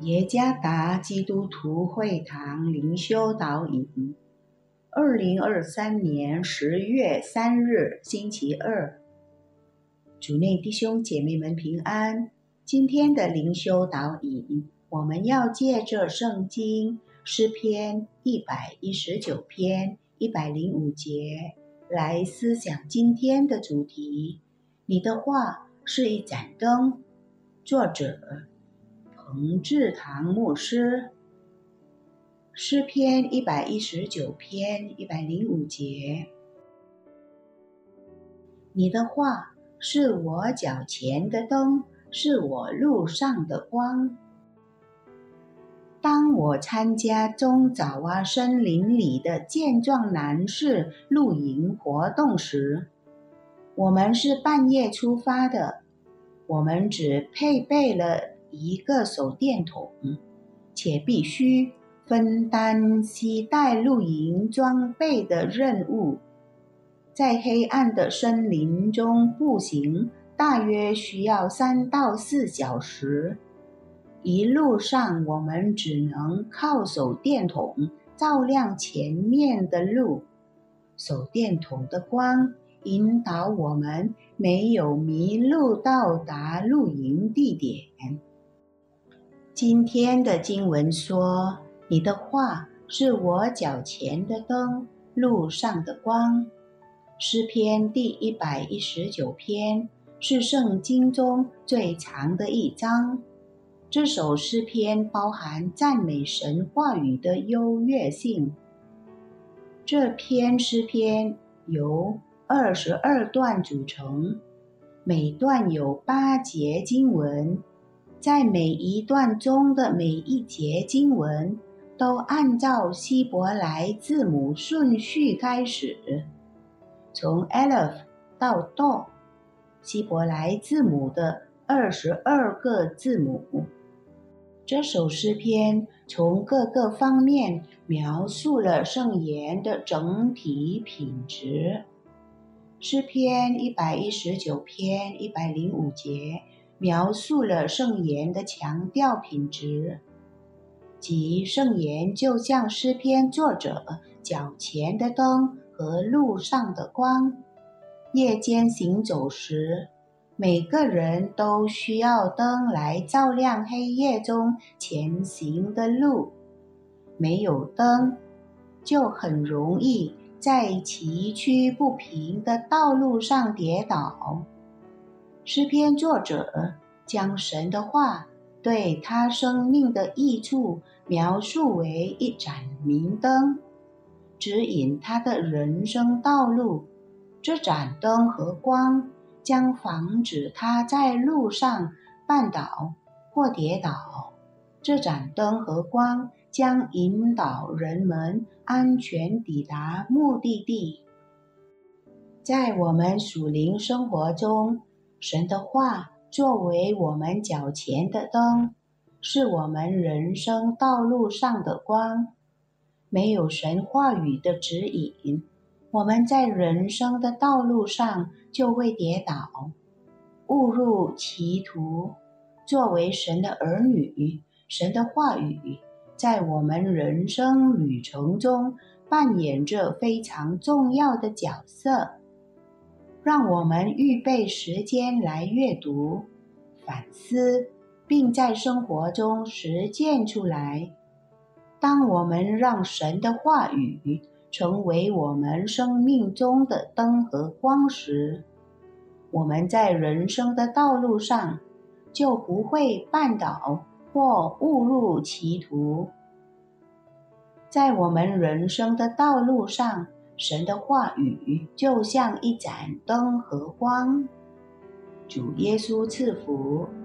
耶加达基督徒会堂灵修导引，2023年10月3日星期二，主内弟兄姐妹们平安。今天的灵修导引，我们要借着圣经诗篇119篇105节来思想今天的主题。你的话是一盏灯。作者彭志堂牧师。诗篇119篇105节，你的话是我脚前的灯，是我路上的光。当我参加中爪哇森林里的健壮男士露营活动时，我们是半夜出发的，我们只配备了一个手电筒，且必须分担携带露营装备的任务。在黑暗的森林中步行大约需要3到4小时，一路上我们只能靠手电筒照亮前面的路，手电筒的光引导我们没有迷路到达露营地点。今天的经文说，你的话是我脚前的灯，路上的光。诗篇第119篇是圣经中最长的一章。这首诗篇包含赞美神话语的优越性。这篇诗篇由22段组成，每段有8节经文，在每一段中的每一节经文都按照希伯来字母顺序开始，从 Aleph 到 Do， 希伯来字母的22个字母。这首诗篇从各个方面描述了圣言的整体品质。诗篇119篇105节描述了圣言的强调品质，即圣言就像诗篇作者脚前的灯和路上的光。夜间行走时，每个人都需要灯来照亮黑夜中前行的路。没有灯，就很容易在崎岖不平的道路上跌倒。诗篇作者将神的话对他生命的益处描述为一盏明灯，指引他的人生道路。这盏灯和光将防止他在路上绊倒或跌倒。这盏灯和光将引导人们安全抵达目的地。在我们属灵生活中，神的话作为我们脚前的灯，是我们人生道路上的光。没有神话语的指引，我们在人生的道路上就会跌倒，误入歧途。作为神的儿女，神的话语在我们人生旅程中扮演着非常重要的角色。让我们预备时间来阅读、反思，并在生活中实践出来。当我们让神的话语成为我们生命中的灯和光时，我们在人生的道路上就不会绊倒或误入歧途。在我们人生的道路上，神的话语就像一盏灯和光。主耶稣赐福。